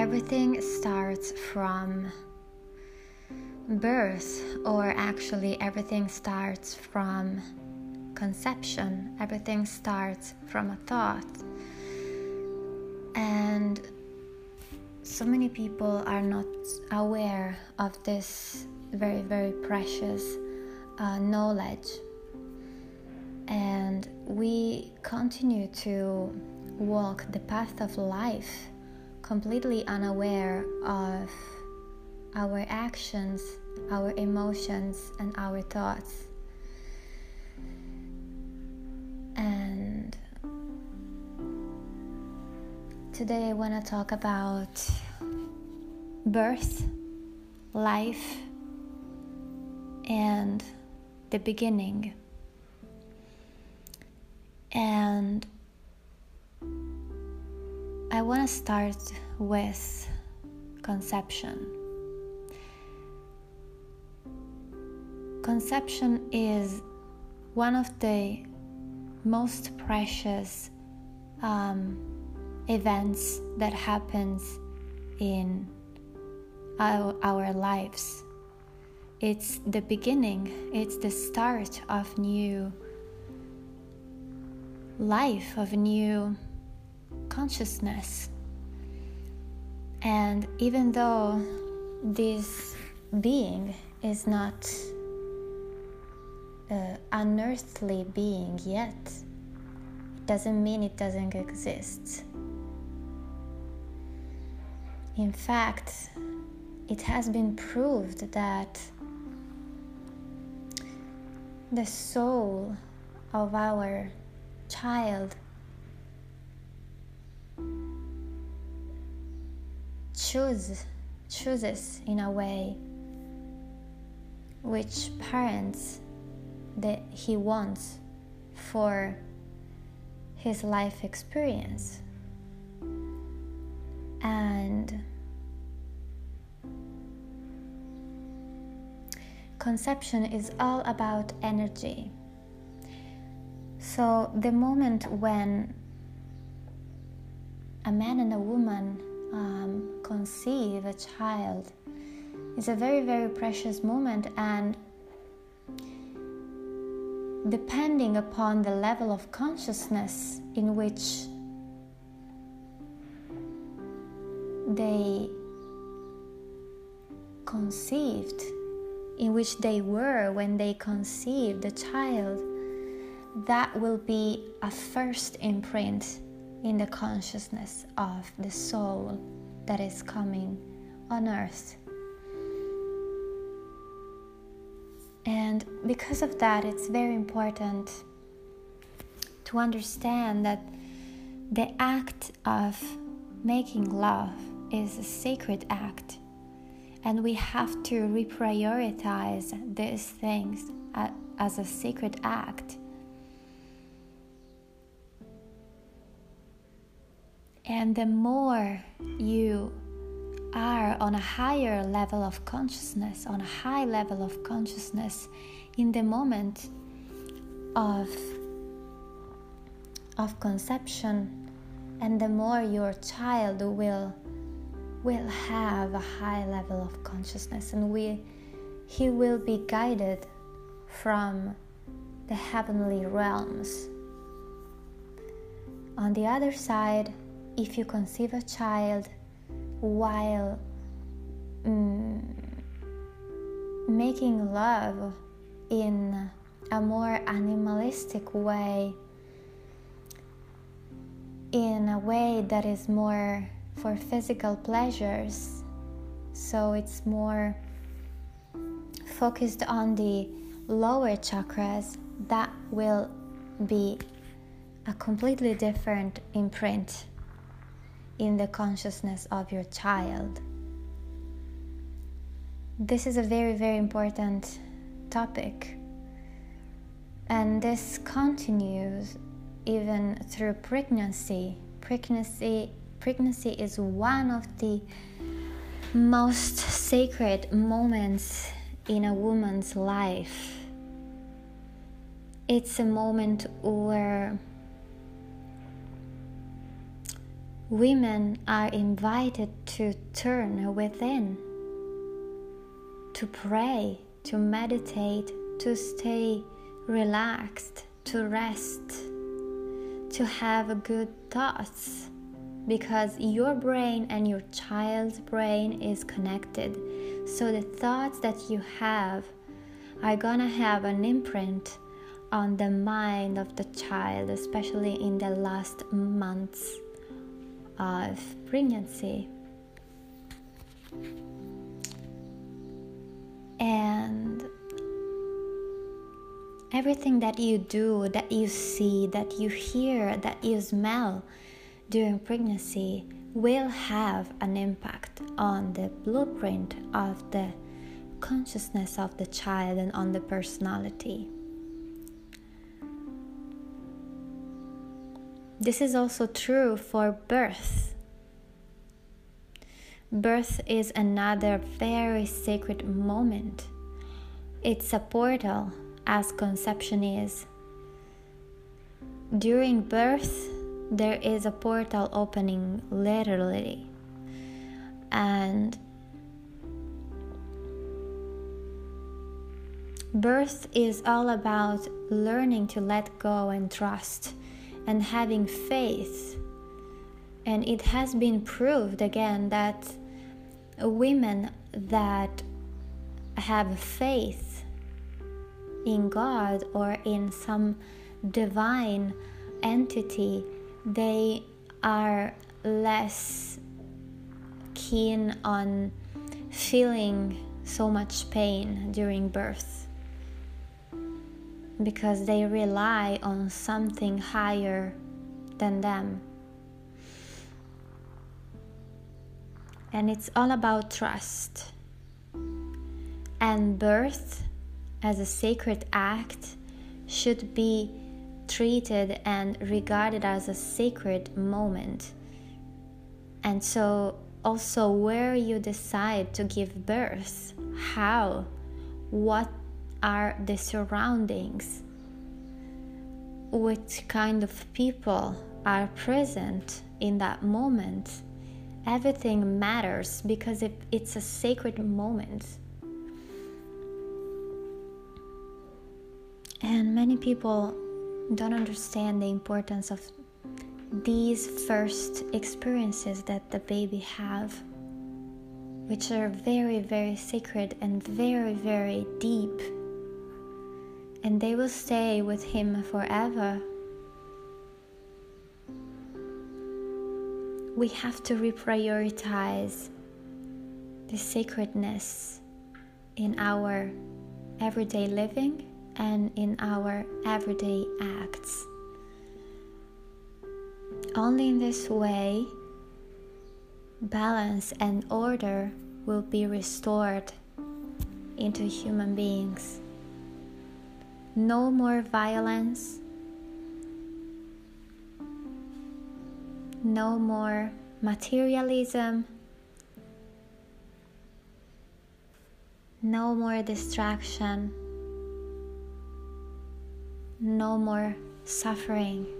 everything starts from birth, or actually everything starts from conception. Everything starts from a thought. And so many people are not aware of this very, very precious knowledge. And we continue to walk the path of life completely unaware of our actions, our emotions, and our thoughts. And today I want to talk about birth, life, and the beginning. And I want to start with conception. Conception is one of the most precious events that happens in our lives. It's the beginning, it's the start of new life, of new consciousness. And even though this being is not an unearthly being yet, it doesn't mean it doesn't exist. In fact, it has been proved that the soul of our child chooses in a way which parents that he wants for his life experience. And conception is all about energy. So the moment when a man and a woman conceive a child is a very, very precious moment, and depending upon the level of consciousness in which they conceived, in which they were when they conceived the child, that will be a first imprint in the consciousness of the soul that is coming on earth. And because of that, it's very important to understand that the act of making love is a sacred act, and we have to reprioritize these things as a sacred act. And the more you are on a higher level of consciousness, on a high level of consciousness in the moment of conception, and the more your child will have a high level of consciousness, and he will be guided from the heavenly realms. On the other side, if you conceive a child while making love in a more animalistic way, in a way that is more for physical pleasures, so it's more focused on the lower chakras, that will be a completely different imprint in the consciousness of your child. This is a very, very important topic, and this continues even through pregnancy. Pregnancy is one of the most sacred moments in a woman's life. It's a moment where women are invited to turn within, to pray, to meditate, to stay relaxed, to rest, to have good thoughts, because your brain and your child's brain is connected. So the thoughts that you have are gonna have an imprint on the mind of the child, especially in the last months of pregnancy. And everything that you do, that you see, that you hear, that you smell during pregnancy will have an impact on the blueprint of the consciousness of the child and on the personality. This is also true for birth. Birth is another very sacred moment. It's a portal, as conception is. During birth, there is a portal opening, literally. And birth is all about learning to let go and trust and having faith. And it has been proved again that women that have faith in God or in some divine entity, they are less keen on feeling so much pain during birth, because they rely on something higher than them. And it's all about trust. And birth, as a sacred act, should be treated and regarded as a sacred moment. And so also where you decide to give birth, how, what are the surroundings, which kind of people are present in that moment, everything matters, because it's a sacred moment. And many people don't understand the importance of these first experiences that the baby have, which are very, very sacred and very, very deep. And they will stay with him forever. We have to reprioritize the sacredness in our everyday living and in our everyday acts. Only in this way, balance and order will be restored into human beings. No more violence, no more materialism, no more distraction, no more suffering.